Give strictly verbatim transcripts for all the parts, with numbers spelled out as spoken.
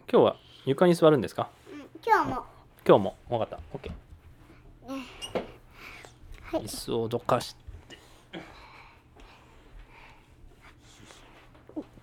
今日は床に座るんですか？ うん、今日も。 今日も。分かった。OK。 はい。 椅子をどかして。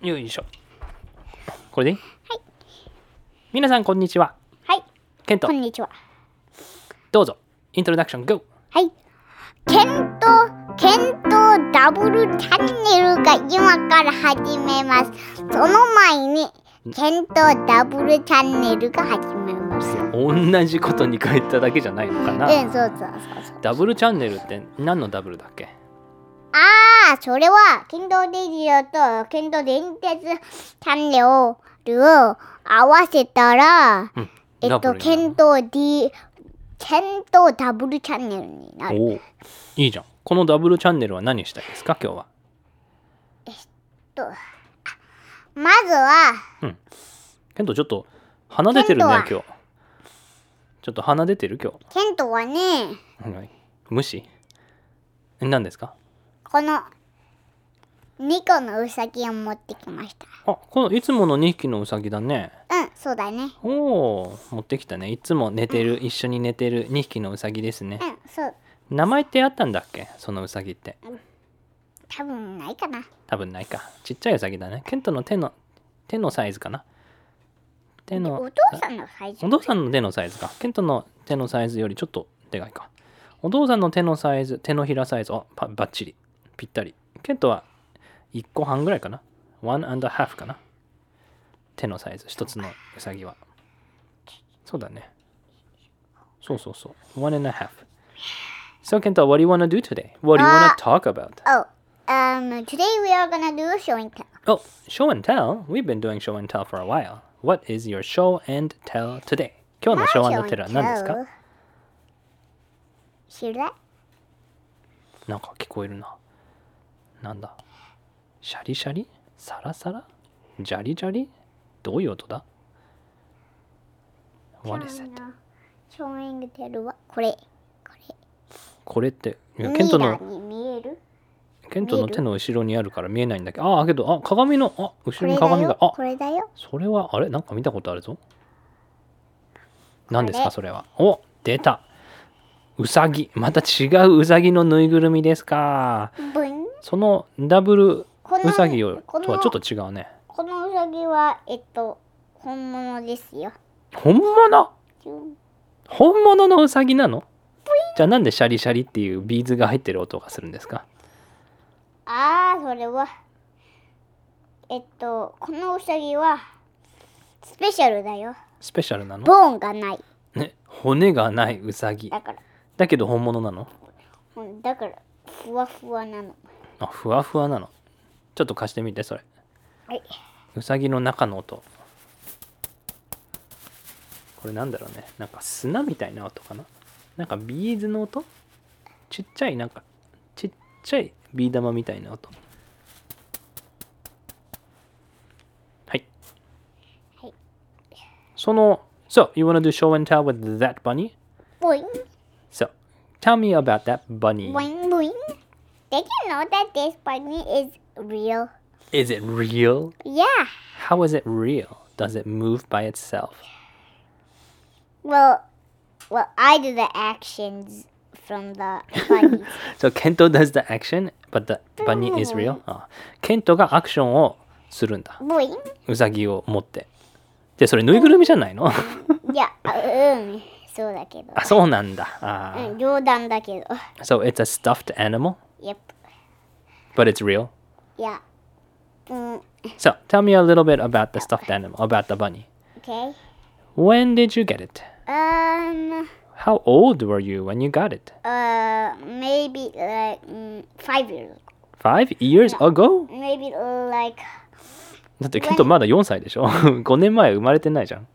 よいしょ。これでいい？ はい。 皆さんこんにちは。 はい。 ケント。 こんにちは。 どうぞ。イントロダクション GO。 はい。ケント、ケントダブルチャンネルが今から始めます。その前に、ケントダブルチャンネルが始めます。 同じことに書いただけじゃないのかな。 うん、そうそうそうそう。 ダブルチャンネルって何のダブルだっけ？ ああ、それは、ケントレディオとケント電鉄チャンネルを合わせたら、 うん、 えっと、ケント D、ケントダブルチャンネルになる。 おお、いいじゃん。このダブルチャンネルは何したいですか、今日は？ えっと、まずは、 うん。ケントちょっと鼻出てるね、今日。ちょっと鼻出てる今日。 ケントはね、 はい、無視？何ですか？ このにこのウサギを持ってきました。 あ、このいつものにひきのウサギだね。 うん、そうだね。 おお、持ってきたね。いつも寝てる、うん、一緒に寝てるにひきのウサギですね。 うん、そう。 名前ってあったんだっけ、そのウサギって？ うん、多分ないかな。 多分ないか。ちっちゃいウサギだね。ケントの手の手のサイズかな。手のお父さんのサイズ。 お父さんの手のサイズか。ケントの手のサイズよりちょっとでかいか。お父さんの手のサイズ、手のひらサイズ、あ、バッチリ。ぴったり。ケントはいっこはんぐらいかな。one and a half かな。手のサイズ、一つのウサギは。そうだね。そうそうそう。one and a half. So, Kento, what do you want to do today? What do you want to talk about? Oh, um, today we are gonna do a show and tell. Oh, show and tell? We've been doing show and tell for a while. What is your show and tell today? 今日の show and tell は何ですか？ 知らない？ なんか聞こえるな。なんだ？シャリシャリ？サラサラ？ジャリジャリ？どういう音だ？ What is it? ショーイングテルはこれ。これ。 これって、いやケントの見える？ ケントの手の後ろにあるから見えないんだけど、ああ、けど、あ、鏡の、あ、後ろに鏡が、あ、 これだよ。 それは、あれなんか見たことあるぞ。何ですか、それは。お、出た。うさぎ。また違ううさぎのぬいぐるみですか。そのダブルうさぎとはちょっと違うね。 このうさぎは、えっと、本物ですよ。 本物？本物のうさぎなの？じゃあなんでシャリシャリっていうビーズが入ってる音がするんですか？ ああ、それは、えっと、このうさぎは、スペシャルだよ。 スペシャルなの？ ボーンがない。 ね、骨がないうさぎ。 だから。 だけど本物なの？ だから、ふわふわなの。 あ、ふわふわなの。ちょっと貸してみて、それ。 はい。 うさぎの中の音。これなんだろうね。なんか砂みたいな音かな。なんかビーズの音？ちっちゃい、なんか、ちっちゃいビー玉みたいな音。はい。 はい。 その、So, you want to do show and tell with that bunny? Boing. So, tell me about that bunny. Boing, boing. Did you know that this bunny is real? Is it real? Yeah. How is it real? Does it move by itself? Well, well, I do the actions from the bunny. So, Kento does the action, but the bunny is real? あ、ケントがアクションをするんだ。 Boing. うさぎを持って。で、それぬいぐるみじゃないの？ いや、うん、そうだけど。 あ、そうなんだ。あ、 うん、冗談だけど。 So, it's a stuffed animal? Yep. But it's real? Yeah. うん。 So, tell me a little bit about the stuffed animal, about the bunny. Okay. When did you get it? Um. How old were you when you got it? Uh, maybe like mm, five years ago. Five years ago? Maybe like. だってケントまだよんさいでしょ？ごねんまえ生まれてないじゃん。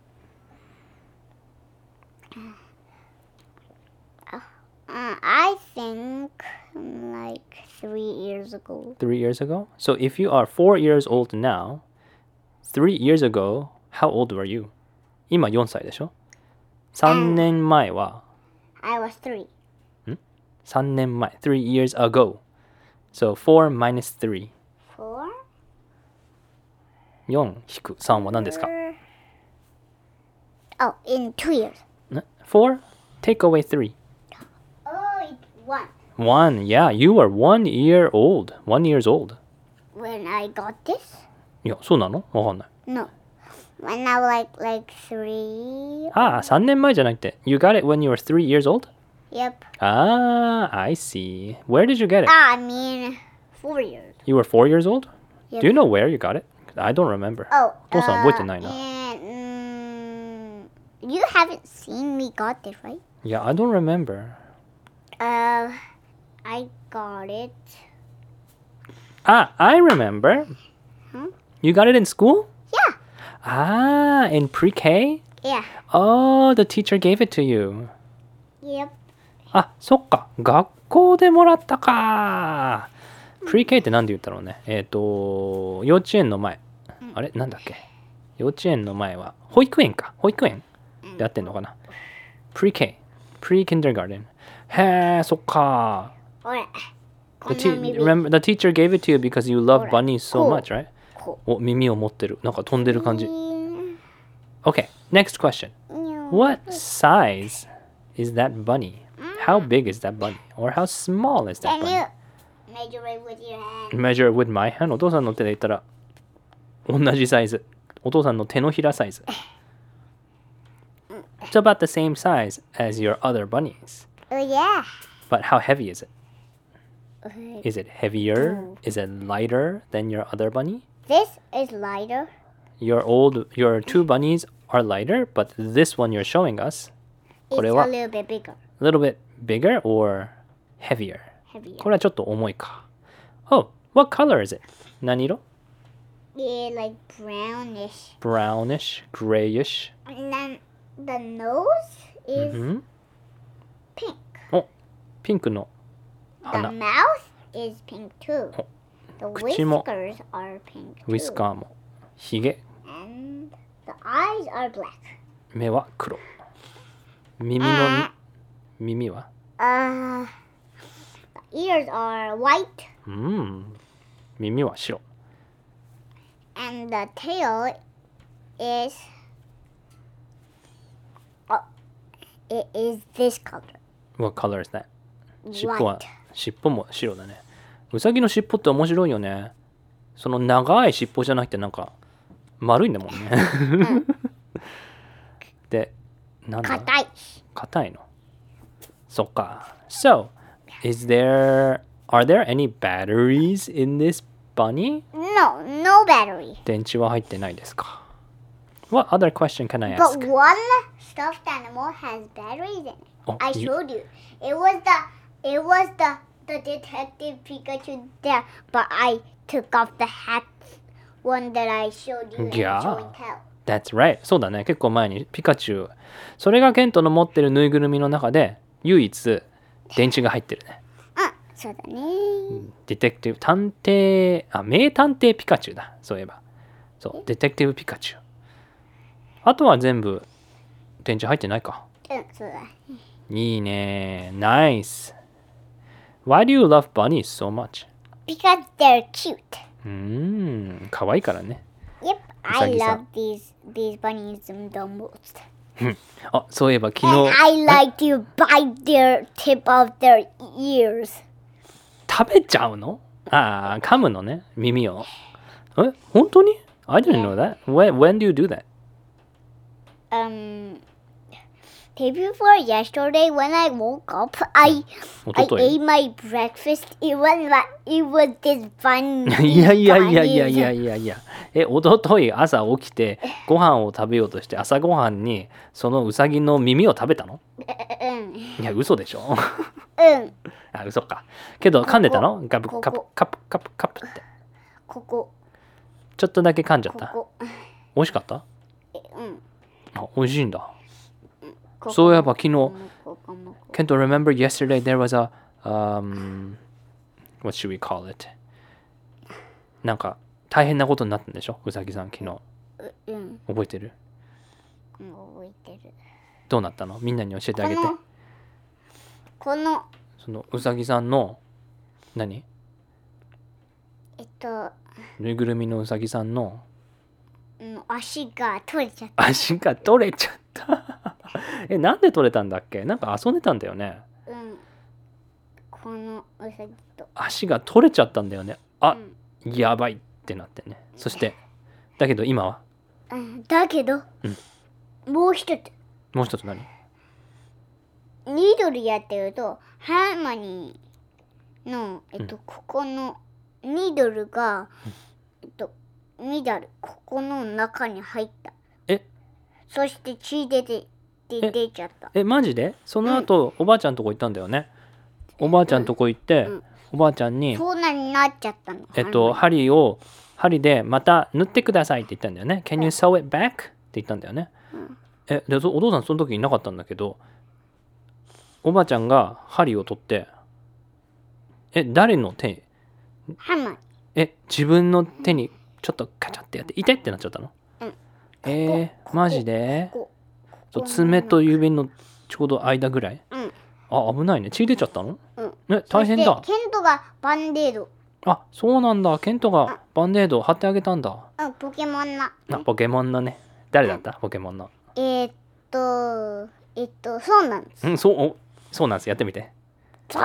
Uh, I think like three years ago. Three years ago? So if you are four years old now, three years ago, how old were you? 今よんさいでしょ？さんねんまえは I was three. ん ?さんねんまえ。three years ago. So four minus three. Four? よん引くさんは何ですか？ Oh, in two years. Four? Take away three. Oh, it's one. One. Yeah, you were one year old. One years old. When I got this? いや、そうなのわかんない。 No. When I was like like three. ああ、さんねんまえじゃなくて。You got it when you were three years old? Yep. Ah, I see. Where did you get it? Ah, I mean, four years. You were four years old? Yep. Do you know where you got it? I don't remember. Oh. お父さん覚えてないな。 And, mm, you haven't seen me got this, right? Yeah, I don't remember. Uh, I got it. Ah, I remember. Hmm? You got it in school? Yeah. Ah, in pre-K? Yeah. Oh, the teacher gave it to you. Yep. あ、そっか。学校でもらったか。pre-K って何で言ったろうね。えっ、と、幼稚園の前。あれなんだっけ幼稚園の前は、保育園か。保育園で合ってんのかな。pre-K。pre-kindergarten。へえ、そっか。 ほら。 The, te- remember, the teacher gave it to you because you love bunnies so much, right? こお、耳を持ってる。なんか飛んでる感じ。 う。 Okay, next question. What size is that bunny? How big is that bunny? Or how small is that Can bunny? you measure it with your hand? Measure it with my hand. お父さんの手で言ったら同じサイズ。お父さんの手のひらサイズ。It's about the same size as your other bunnies. Oh, yeah. But how heavy is it? Is it heavier? Is it lighter than your other bunny? This is lighter. Your old, your two bunnies are lighter, but this one you're showing us, It's これ a は little bit bigger. a little bit bigger or heavier? Heavier. これはちょっと重いか。Oh, what color is it? 何色 Yeah, like brownish. Brownish, grayish. And then the nose is Mhm. pink. お、ピンクの The 花。 mouth is pink too. The 口も whiskers are pink ウィ too. スカーも。ひげ、 And the eyes are black. 目は黒。耳の耳は Uh, the ears are white. うん。耳は白。 And the tail is oh, it is this color. What color is that? 尻尾は White. 尻尾も白だね。ウサギの尻尾って面白いよね。その長い尻尾じゃなくてなんか丸いんだもんね。で、なんだ硬い。 硬いの。そっか。So, is there, are there any batteries in this bunny? No, no battery. 電池は入ってないですか。What other question can I But ask? one stuffed animal has batteries in it. Oh, I you- showed you. It was the it was the the detective Pikachu there, but I took off the hat one that I showed you in Yeah. show and tell. That's right. そうだね。結構前にピカチュウ。それがケントの持ってるぬいぐるみの中で唯一電池が入ってるね。 あ、そうだね。 ディテクティブ、探偵、あ、名探偵ピカチュウだ。そういえば。そう、ディテクティブピカチュウ。あとは全部電池入ってないか。 うん、そうだ。 いいね。Nice. Why do you love bunnies so much? Because they're cute. うーん、可愛いからね。 Yep, I うさぎさ love ん these these bunnies the most. あ、そういえば昨 And 日 I like to bite their tip of their ears. 食べちゃうのああ、噛むのね。耳を。え、本当に I didn't know that. When, when do you do that? Um, day before yesterday, when I woke up, I お I ととい ate my breakfast. It was like it was this fun. いやいやいやいやいやいやいや。え、おととい朝起きてご飯を食べようとして朝ごはんにそのウサギの耳を食べたのうんいや、嘘でしょうんあ、嘘か。けど噛んでたのガブここカプカプカプカプって。 ここちょっとだけ噛んじゃった。 ここ美味しかったえうんあ、美味しいんだ。 ここそういえば昨日、 ここもこ Kento, remember yesterday there was a, um, what should we call it? なんか大変なことになったんでしょうさぎさん昨日。 ううん覚えてるうん覚えてるどうなったのみんなに教えてあげて。 このこのそのうさぎさんの、何えっとぬいぐるみのうさぎさんの、 うん足が取れちゃった。 足が取れちゃったえ、なんで取れたんだっけ？なんか遊んでたんだよね。 うん。このうさぎと。 足が取れちゃったんだよね。あ、 うん、 やばいってなってね。そしてだけど今は、 うん、だけど、 うん、 もう一つ。 もう一つ何？ ニードルやってるとハーマニーの、えっと、うん、ここのニードルが、えっと、ミダルここの中に入った。 え？ そして血出てで出ちゃった。 え、マジで？その後、うん、おばあちゃんとこ行ったんだよね。おばあちゃんとこ行って、うん、おばあちゃんにそんなになっちゃったの。 えっと針を針でまた縫ってくださいって言ったんだよね。Can you sew it back? って言ったんだよね。うん、えでお父さんその時いなかったんだけど、おばあちゃんが針を取って、え誰の手？ ハマ。 え自分の手にちょっとカチャってやって痛いってなっちゃったの？うん、えー、マジで？そう爪と指のちょうど間ぐらい？うん、あ、危ないね。血出ちゃったの？うん、ね、大変だ。 ケントがバンデード。 あ、そうなんだ。ケントがバンデードを貼ってあげたんだ。 うん、ポケモンの。 あ、ポケモンのね。誰だった？うん、ポケモンの。 えー、っと、えっと、そうなんです。 うん、そう、お、そうなんです。やってみて。 そう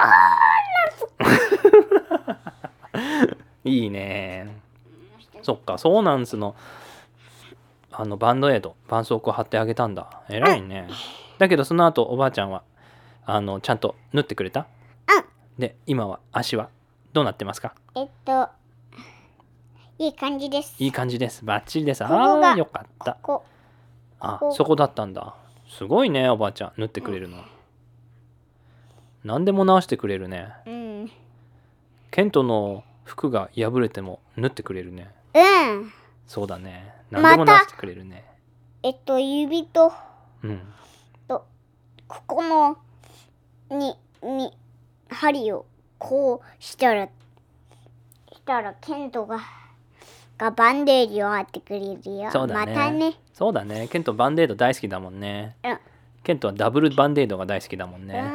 なんです。 いいね。そっか、そうなんですの。あのバンドエイド、絆創膏貼ってあげたんだ。偉いね。だけどその後おばあちゃんはあのちゃんと縫ってくれた？ うん。 で今は足はどうなってますか？ えっといい感じです。 いい感じです。バッチリです。 ここがああよかった。 ここあこそこだったんだ。すごいねおばあちゃん縫ってくれるの。うん、何でも直してくれるね。うん。ケントの服が破れても縫ってくれるね。 うん。 そうだね。何でも直してくれるね。 ま、えっと指と、うん、とここのにに針をこうしたらしたらケントががバンデージを貼ってくれるよ。 そうだね。 またね。 そうだね。ケントバンデード大好きだもんね。うん。ケントはダブルバンデードが大好きだもんね。うん、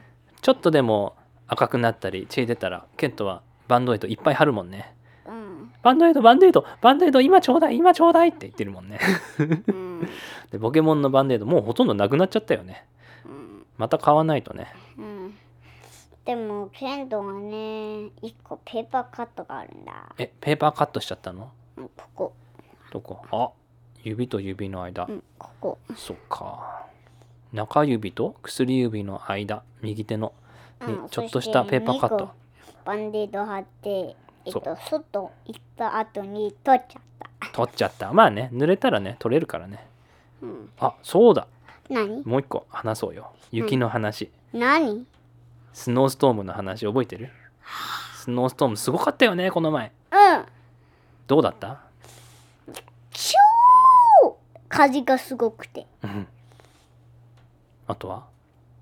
ちょっとでも赤くなったり血出たらケントはバンドエイドいっぱい貼るもんね。うん、バンドエイドバンデードバンデード今ちょうだい今ちょうだいって言ってるもんね。うん、でポケモンのバンデードもうほとんどなくなっちゃったよね。うん、また買わないとね。うん、 でもケントがねいっこペーパーカットがあるんだ。 えペーパーカットしちゃったの？ うん、ここ。 どこ？あ指と指の間。 うん、ここ。 そっか。中指と薬指の間右手のにちょっとしたペーパーカット。 バンデード貼ってえっと外行った後に取っちゃった。 取っちゃった。まあね濡れたらね取れるからね。うん、あそうだ。 何？ もう一個話そうよ。雪の話。 何？ スノーストームの話覚えてる？スノーストームすごかったよねこの前。 うん。 どうだった？ 超風がすごくて。うん。 あとは？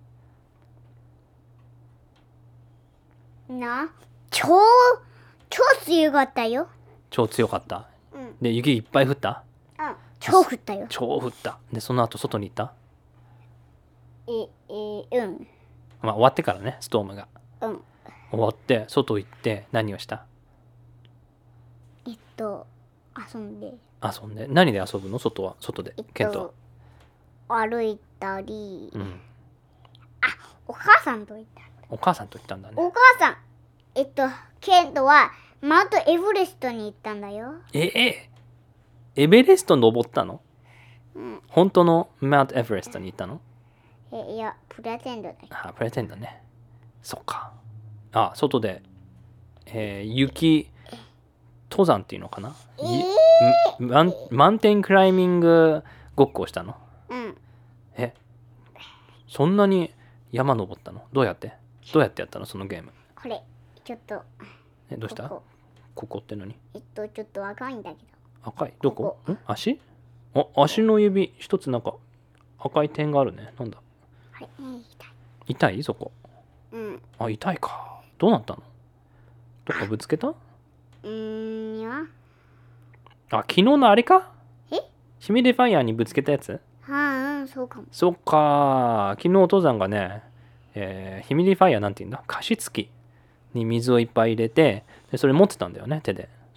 な、超超強かったよ。 超強かった。うん、で雪いっぱい降った？ うん。超降ったよ。 超降った。でその後外に行った？ ええうん。 まあ終わってからねストームが。うん。終わって外行って何をした？ えっと遊んで。 遊んで何で遊ぶの？外は外で、えっと、ケントは歩いたり、うん、あお母さんと行った。 お母さんと行ったんだね。 お母さんえっとケントはマウントエベレストに行ったんだよ。 ええエベレスト登ったの？うん、本当のマウントエベレストに行ったの？ えいやプレゼントだよ。 あプレゼントね。そっか。あ外で、えー、雪登山っていうのかな、えー、マンマウンテンクライミングごっこをしたの？うん。えそんなに山登ったの？どうやってどうやってやったのそのゲーム？ これちょっとえどうした？ここ、ここって何？ えっとちょっと赤いんだけど。 赤いどこ？ここん足？あ足の指一つなんか赤い点があるね。なんだ？ はい、痛い。 痛いそこ？うん。あ痛いか。どうなったの？どっかぶつけた？うーんや。あ昨日のあれか？え？シミリファイヤーにぶつけたやつ？ はあ、うん、そうかも。 そっか昨日お父さんがね、えー、ヒミリファイヤーなんて言うんだ加湿器に水をいっぱい入れてでそれ持ってたんだよね手で。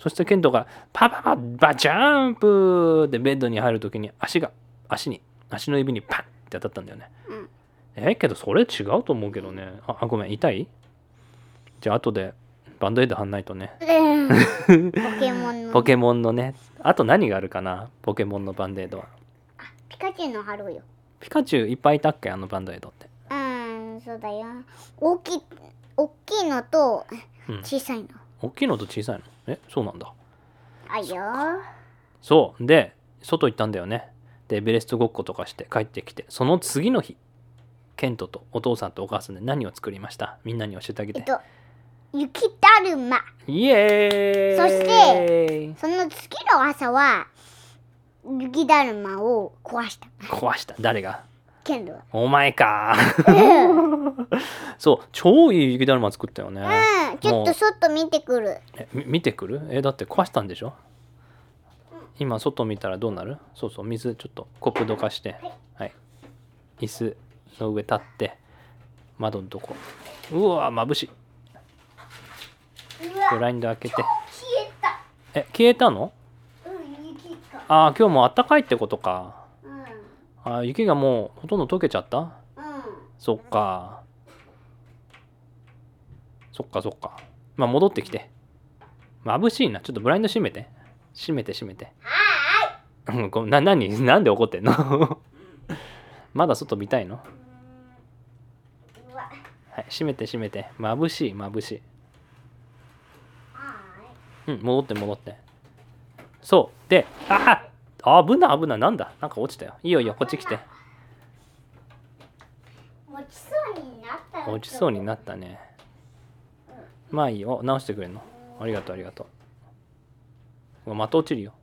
そしてケントがパパパバジャンプでベッドに入るときに足が足に足の指にパンって当たったんだよね。 うん、 えけどそれ違うと思うけどね。ああごめん痛い？じゃあ後でバンドエイド貼んないとね。 ポケモンのポケモンのね。あと何があるかなポケモンのバンドエイドは。 あピカチュウの貼ろうよ。 ピカチュウいっぱいいたっけあのバンドエイドって。 うんそうだよ。大きい大きいのと小さいの、 うん、大きいのと小さいのえそうなんだ。 あいよ。 そうで外行ったんだよね。でエベレストごっことかして帰ってきて、その次の日ケントとお父さんとお母さんで何を作りました？みんなに教えてあげて。 えっと雪だるま。 イエーイ。 そしてその次の朝は雪だるまを壊した。 壊した。誰が？ ケントが。 お前か。そう超いい雪だるま作ったよね。 うんちょっと外見てくる。 え見てくる？えだって壊したんでしょ？今外見たらどうなる？そうそう水ちょっとコップどかして、はい、はい、椅子の上立って窓のとこ、うわ眩しい。ブラインド開けて。 消えた。 え消えたの？ うん雪が。 ああ今日もあったかいってことか。 うんあ雪がもうほとんど溶けちゃった？ うんそっかそっかそっか。まあ戻ってきて。眩しいな。ちょっとブラインド閉めて閉めて閉めて。 はうんごめんな何なんで怒ってんの？まだ外見たいの？ ーいうわはい閉めて閉めて。眩しい眩しい。 はうん戻って戻って。そうでああ危ない危ないなんだなんか落ちたよ。いいよいいよこっち来て。 ーい落ちそうになった。 落ちそうになったね。まあいいよ直してくれんの。ありがとうありがとう。また落ちるよ。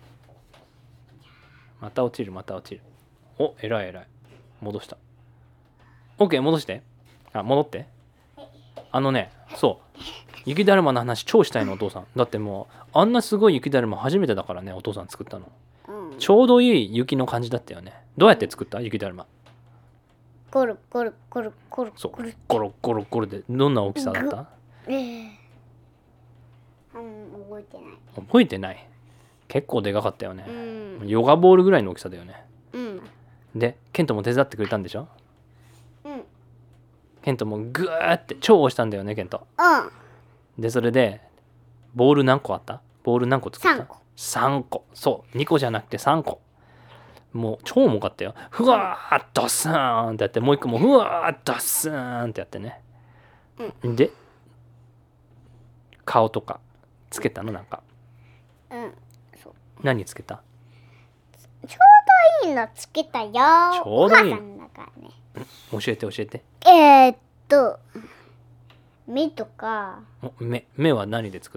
また落ちるまた落ちる。おえらいえらい。戻した。 OK 戻して。あ戻って。あのねそう雪だるまの話超したいのお父さん。だってもうあんなすごい雪だるま初めてだからねお父さん作ったの。 うんちょうどいい雪の感じだったよね。どうやって作った雪だるま？ ゴルゴルゴルゴルそうゴルゴロゴロゴロでどんな大きさだった？ えーうん覚えてない。 覚えてない。結構でかかったよね。 うんヨガボールぐらいの大きさだよね。 うんでケントも手伝ってくれたんでしょ？ うんケントもグーって超押したんだよねケント。 うんでそれでボール何個あった？ボール何個作った？ さんこ。 さんこ。そうにこじゃなくてさんこ。もう超重かったよ。ふわーっドスーンってやってもう一個もふわーっドスーンってやってね。で顔とかつけたのなんか。 うんそう何つけた？ ちょうどいいのつけたよ。ちょうどいいお母さんだからね。 教えて教えて。 えー、っと目とかお目目は何で作った？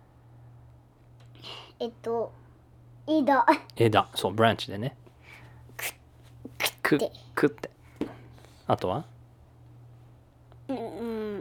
えっと枝枝。そうブランチでね。くっくってあとはうんうん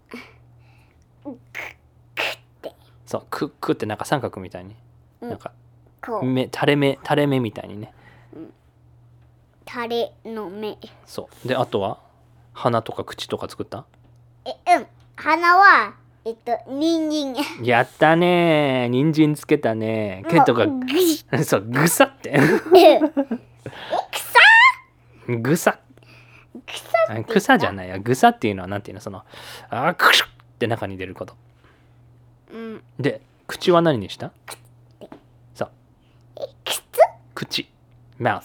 そうくっくってなんか三角みたいに、 うんなんかこう目垂れ目垂れ目みたいにね。 タレの目。 そうであとは鼻とか口とか作った？ えうん鼻はえっと人参。 やったねー人参つけたねー。ケントがもうぐしそうぐさってえ草ぐさ草って草じゃないやぐさっていうのはなんていうのそのあーくしゅって中に出ることうんで口は何にした？そうえ靴口 mouth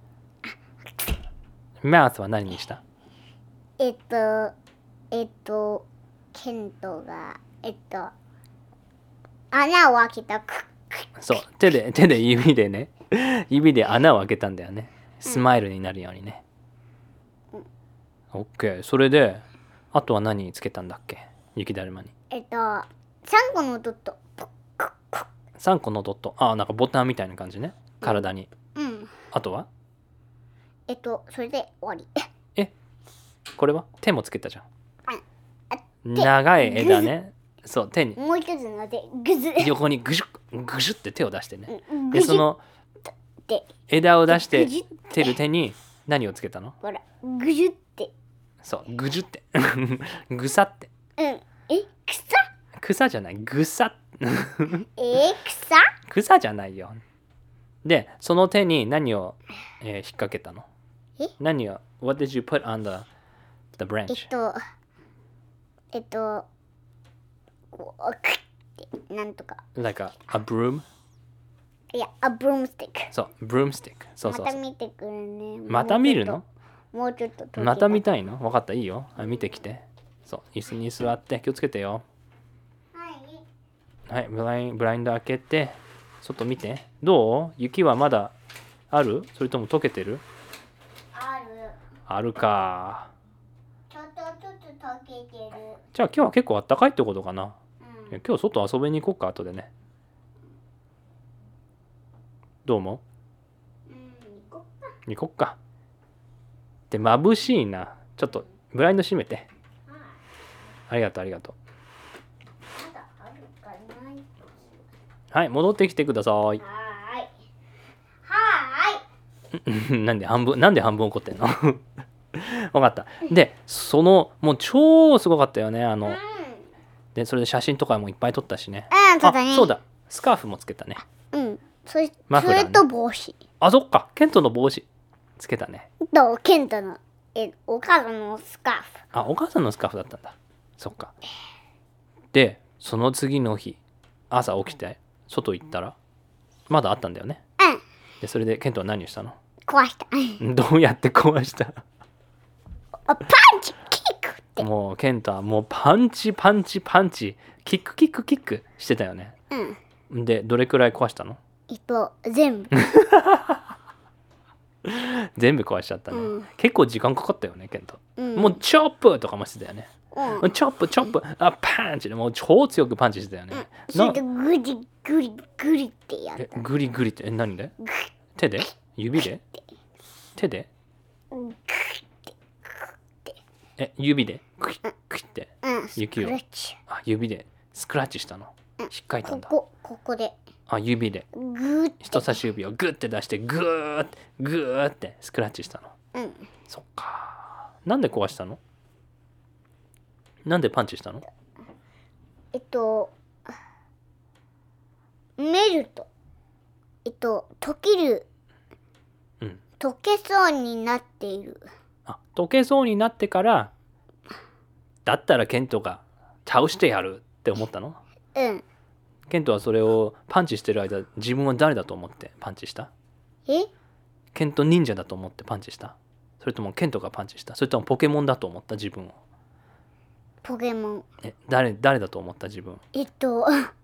mouth は何にした？ えっとえっとケントがえっと穴を開けたくそう手で手で指でね指で穴を開けたんだよね。スマイルになるようにね。オッケー。それであとは何つけたんだっけ雪だるまに？ えっとさんこのドット。 さんこのドット。ああなんかボタンみたいな感じね体に。 うんあとはえっとそれで終わり。 えこれは手もつけたじゃん。 あ長い枝ね。そう手にもう一つの手グズ横にグシュッグシュッって手を出してね。 うんグジュでそのって枝を出してグジュッてる手に何をつけたの？ ほらグジュってそうグジュってぐさってうんえ草草じゃない。ぐさ。 えー、草草じゃないよ。で、その手に何を、えー引っ掛けたの？ え何を What did you put on the, the え branch? っと、えっと、こう、クッて、なんとか。 Like a, a broom? いや、a broomstick。 そう、broomstick。そうそうそう。 また見てくるね。 また見るの？ もうちょっと。もうちょっと。 また見た。 たいの？分かった、いいよ。あ、見てきて。そう、椅子に座って気をつけてよ。 はい。 はい、ブラインブラインド開けて、外見て。どう？雪はまだある？それとも溶けてる？ ある。 あるか。 ちょっとずつ溶けてる。 じゃあ今日は結構あったかいってことかな。 うん。 今日外遊びに行こうか、後でね。どう思うん、行こっか。 う？行こっか。で、眩しいな。ちょっとブラインド閉めて。 はい。 ありがとう、ありがとまだあるかない。 う。はい、戻ってきてください。 はーい。はーい。 なんで半分、なんで半分怒ってんの？分かった。で、その、もう超すごかったよね。あの、で、それで写真とかもいっぱい撮ったしね。 うん、そうだね。 あ、そうだ。スカーフもつけたね。 うん。それ、 マフラーねそれと帽子。 あ、そっか。ケントの帽子つけたね。 と、ケントの、え、お母さんのスカーフ。 あ、お母さんのスカーフだったんだ。そっか。で、その次の日、朝起きて、外行ったら、まだあったんだよね。 うん。 で、それでケントは何をしたの？ 壊した。 どうやって壊したあ、パンチキックって。 もうケントはもうパンチパンチパンチキックキックキックしてたよね。 うん。 で、どれくらい壊したの？ えっと、全部。 全部壊しちゃったね。 うん結構時間かかったよね、ケント。 うん。 もうチョップとかもしてたよね。 うん。 チョップチョップ、あ、パンチでもう超強くパンチしてたよね。 それでグリグリグリってやっえた。 グリグリってえ何で？手で？指で？手で？ うん。 え指でクイックイッってうん。 雪をスクラッチ。 あ指でスクラッチしたの。しっかりたんだ。 ここ、ここで。 あ指でグーって。 人差し指をグッて出してグーってグーってスクラッチしたの。 うん。 そっか。なんで壊したの？なんでパンチしたの？ えっと、メルト。えっと、溶ける。 うん。 溶けそうになっている。 あ溶けそうになってからだったらケントが倒してやるって思ったの？ うん。 ケントはそれをパンチしてる間自分は誰だと思ってパンチした？ えケント忍者だと思ってパンチした？それともケントがパンチした？それともポケモンだと思った自分を？ ポケモン。 え誰誰だと思った自分？ えっと、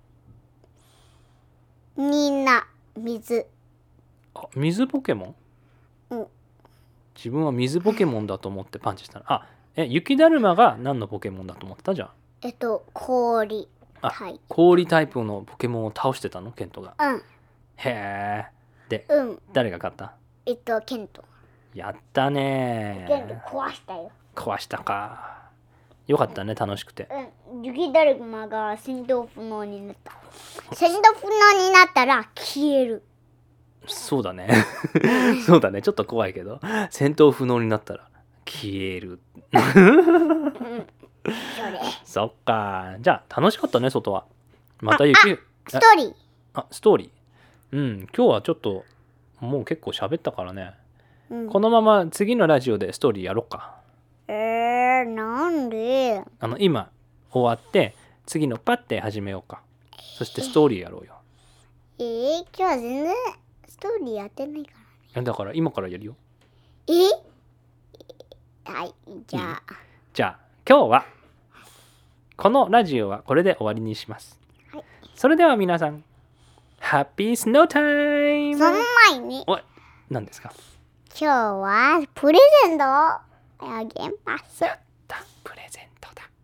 みんな、水。 あ水ポケモン？ うん。 自分は水ポケモンだと思ってパンチしたの？あえ雪だるまが何のポケモンだと思ったじゃん。 えっと、氷。 あはい。 氷タイプのポケモンを倒してたのケントが？ うん。 へえ。でうん。 誰が勝った？ えっと、ケント。 やったねケント壊したよ。 壊したか。よかったね、楽しくて。 うん。雪だるまが戦闘不能になった。戦闘不能になったら消える。 そうだねそうだね、ちょっと怖いけど戦闘不能になったら消えるうん。それ。 そっか。じゃあ楽しかったね、外は。また雪ストーリー。 あストーリー。うん今日はちょっともう結構喋ったからね、 うん、 このまま次のラジオでストーリーやろうか。 えー、なんで？ あの今終わって次のパッて始めようか。そしてストーリーやろうよ。 えー、今日は全然ストーリーやってないからね。 だから今からやるよ。 えはいじゃあじゃあ今日はこのラジオはこれで終わりにします、 はい、 それでは皆さんハッピースノータイム。 その前におい何ですか？ 今日はプレゼントをあげます。 やったプレゼントだ。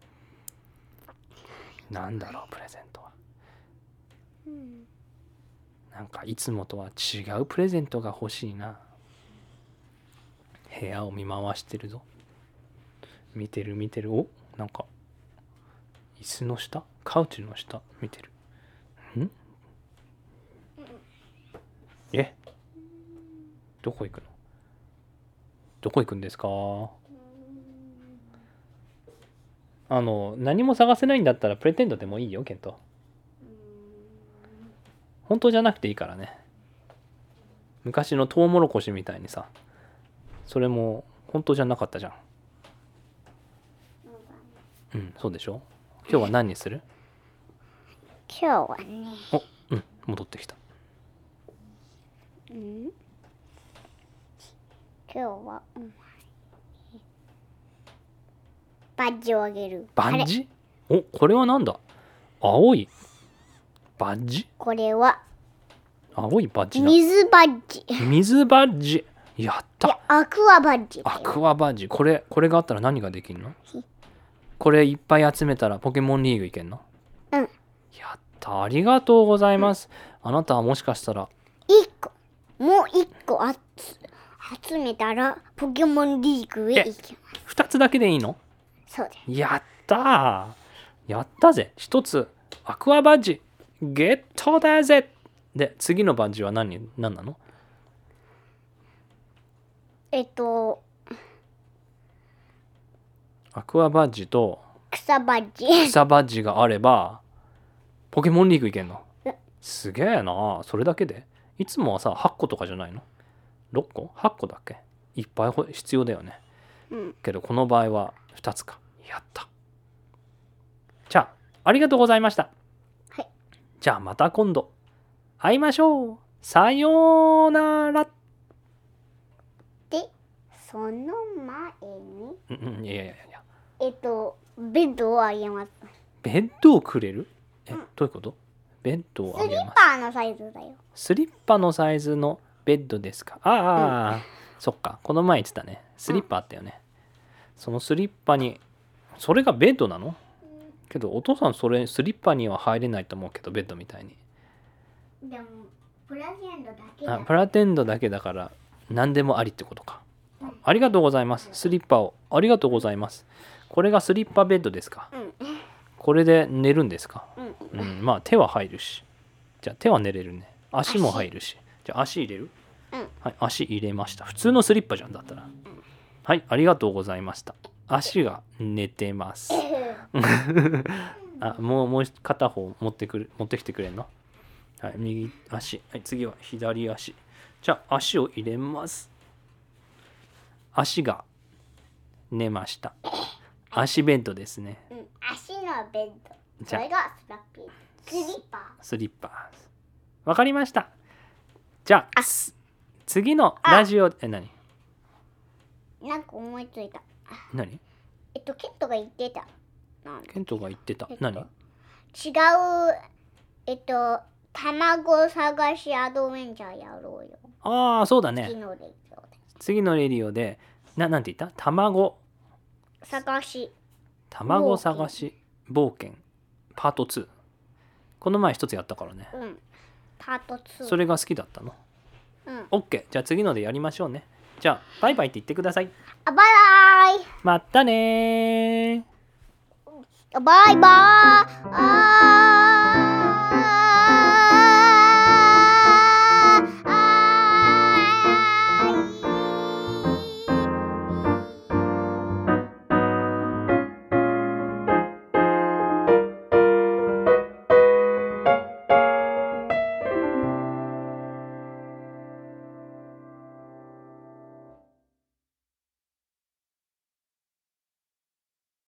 なんだろうプレゼントは、うん、なんかいつもとは違うプレゼントが欲しいな。部屋を見回してるぞ。見てる見てる。おなんか椅子の下カウチの下見てる。んえどこ行くの？どこ行くんですか？ あの何も探せないんだったらプレテンドでもいいよケント。本当じゃなくていいからね。昔のトウモロコシみたいにさ、それも本当じゃなかったじゃん。うん、そうでしょ。今日は何にする？ 今日はね、 お、うん、戻ってきた。 うん、今日はお前にバッジをあげる。 バッジ？お、これはなんだ？青いバッジ？ これは青いバッジだ。 水バッジ。 水バッジ。やっいた。 や、アクアバッジ。 アクアバッジ。これ、これがあったら何ができるの？これいっぱい集めたらポケモンリーグいけんの？ うん。 やった。ありがとうございます。あなたはもしかしたら一個、もう一個あつ集めたらポケモンリーグへ行きます。 ふたつだけでいいの？ そうです。 やったー。やったぜ。ひとつアクアバッジゲットだぜ。で、次のバッジは何、何なの？ えっと、 アクアバッジと草バッジ。 草バッジがあればポケモンリーグいけんのうん？ すげえな。それだけで？いつもはさはっことかじゃないの？ろっこ？ はっ 個だっけ？いっぱい必要だよね。 うん。 けどこの場合はふたつか。やった。じゃあありがとうございました。 はい。 じゃあまた今度会いましょう。さようなら。 で、その前に、 うんうん、いやいやいや。 えっと、ベッドをあげます。 ベッドをくれる？え、 うんどういうこと？ベッドをあスリッげます。 パのサイズだよ。 スリッパのサイズのベッドですか？ああ、うん、そっか。この前言ってたね。スリッパあったよね。うん、そのスリッパに、それがベッドなの？けどお父さんそれスリッパには入れないと思うけど、ベッドみたいに。 でもプラテンドだけだ。 あ、プラテンドだけだから何でもありってことか。うん、ありがとうございます。スリッパをありがとうございます。これがスリッパベッドですか？うん、これで寝るんですか？うん、うん、まあ手は入るし。じゃあ手は寝れるね。足も入るし。じゃあ足入れる？うん、はい、足入れました。普通のスリッパじゃんだったら。うん、はい、ありがとうございました。足が寝てます。あ、もうもう片方持ってくる持ってきてくれんの？はい、右足。はい、次は左足。じゃあ足を入れます。足が寝ました。足ベッドですね。 うん、足のベッド。それがスラッピー。スリッパ。 スリッパ。わかりました。じゃあ、あ次のラジオ、え、何？ なんか思いついた。 何？ えっと、ケントが言ってた。 ケントが言ってた。えっと、何？違う、 えっと、卵探しアドベンチャーやろうよ。 ああ、そうだね。 次のレディオで。 次のレディオで、な、なんて言った？卵探し。 卵探し冒険パートツー。この前一つやったからね。 うん。パートツー。 それが好きだったの？うん。OK。じゃあ次のでやりましょうね。じゃあバイバイって言ってください。 あ、バイバイ。 またねー。 バイバイ。あー。